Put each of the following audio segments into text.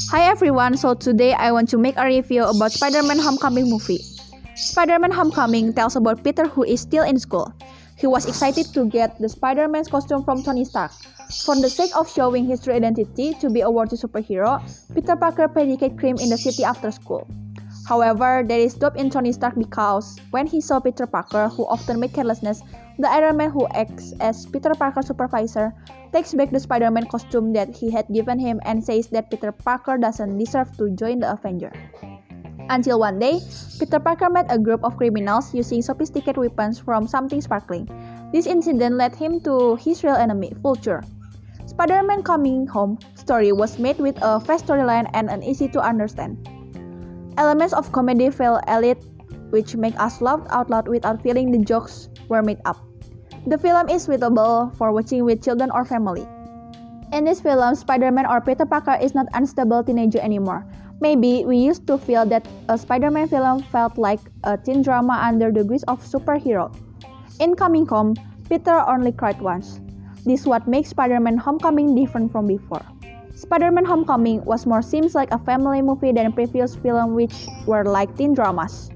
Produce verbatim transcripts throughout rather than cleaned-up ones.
Hi everyone, so today I want to make a review about Spider-Man Homecoming movie. Spider-Man Homecoming tells about Peter who is still in school. He was excited to get the Spider-Man's costume from Tony Stark. For the sake of showing his true identity to be a worthy superhero, Peter Parker predicate crime in the city after school. However, there is doubt in Tony Stark because when he saw Peter Parker, who often made carelessness, the Iron Man who acts as Peter Parker's supervisor takes back the Spider-Man costume that he had given him and says that Peter Parker doesn't deserve to join the Avengers. Until one day, Peter Parker met a group of criminals using sophisticated weapons from something sparkling. This incident led him to his real enemy, Vulture. Spider-Man Coming Home story was made with a fast storyline and an easy to understand. Elements of comedy feel elite, which make us laugh out loud without feeling the jokes were made up. The film is suitable for watching with children or family. In this film, Spider-Man or Peter Parker is not unstable teenager anymore. Maybe we used to feel that a Spider-Man film felt like a teen drama under the guise of superhero. In Coming Home, Peter only cried once. This is what makes Spider-Man Homecoming different from before. Spider-Man Homecoming was more seems like a family movie than previous films which were like teen dramas.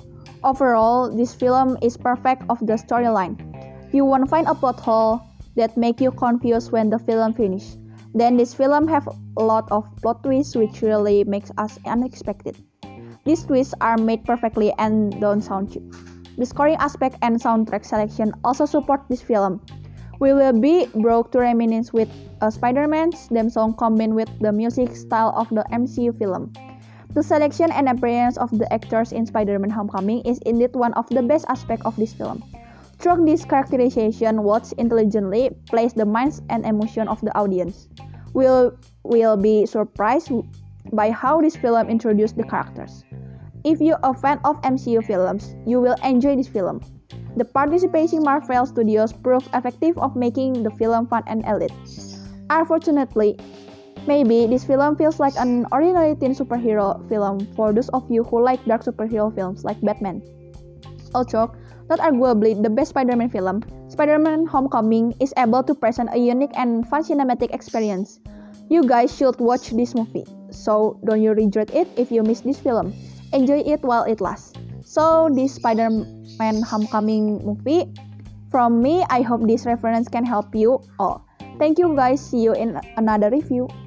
Overall, this film is perfect of the storyline. You won't find a plot hole that make you confused when the film finish. Then this film have a lot of plot twists which really makes us unexpected. These twists are made perfectly and don't sound cheap. The scoring aspect and soundtrack selection also support this film. We will be brought to reminisce with a Spider-Man's theme song combined with the music style of the M C U film. The selection and appearance of the actors in Spider-Man Homecoming is indeed one of the best aspects of this film. Through this characterization, Watts intelligently plays the minds and emotion of the audience. We'll, we'll be surprised by how this film introduced the characters. If you're a fan of M C U films, you will enjoy this film. The participating Marvel Studios proved effective of making the film fun and elite. Unfortunately, maybe this film feels like an ordinary teen superhero film for those of you who like dark superhero films like Batman. Also, not arguably the best Spider-Man film, Spider-Man Homecoming is able to present a unique and fun cinematic experience. You guys should watch this movie, so don't you regret it if you miss this film. Enjoy it while it lasts. So, this Spider-Man Homecoming movie, from me, I hope this reference can help you all. Thank you guys, see you in another review.